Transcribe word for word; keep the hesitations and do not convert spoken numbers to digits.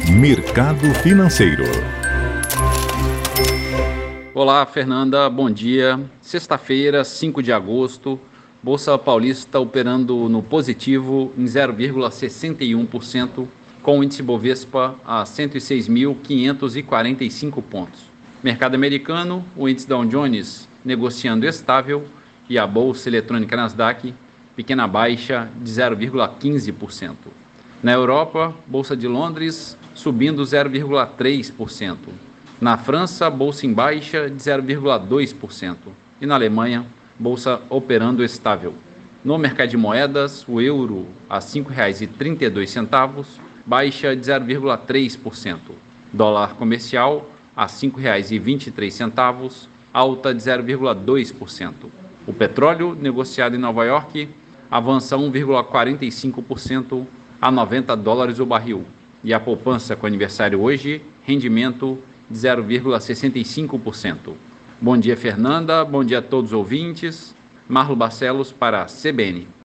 Mercado Financeiro. Olá, Fernanda, bom dia. Sexta-feira, cinco de agosto, Bolsa Paulista operando no positivo em zero vírgula sessenta e um por cento, com o índice Bovespa a cento e seis mil quinhentos e quarenta e cinco pontos. Mercado americano, o índice Dow Jones negociando estável e a Bolsa Eletrônica Nasdaq, pequena baixa de zero vírgula quinze por cento. Na Europa, Bolsa de Londres subindo zero vírgula três por cento. Na França, Bolsa em baixa de zero vírgula dois por cento. E na Alemanha, Bolsa operando estável. No mercado de moedas, o euro a cinco reais e trinta e dois centavos, baixa de zero vírgula três por cento. Dólar comercial a cinco reais e vinte e três centavos, alta de zero vírgula dois por cento. O petróleo, negociado em Nova York, avança um vírgula quarenta e cinco por cento a noventa dólares o barril. E a poupança com aniversário hoje, rendimento de zero vírgula sessenta e cinco por cento. Bom dia, Fernanda. Bom dia a todos os ouvintes. Marlo Barcelos para a C B N.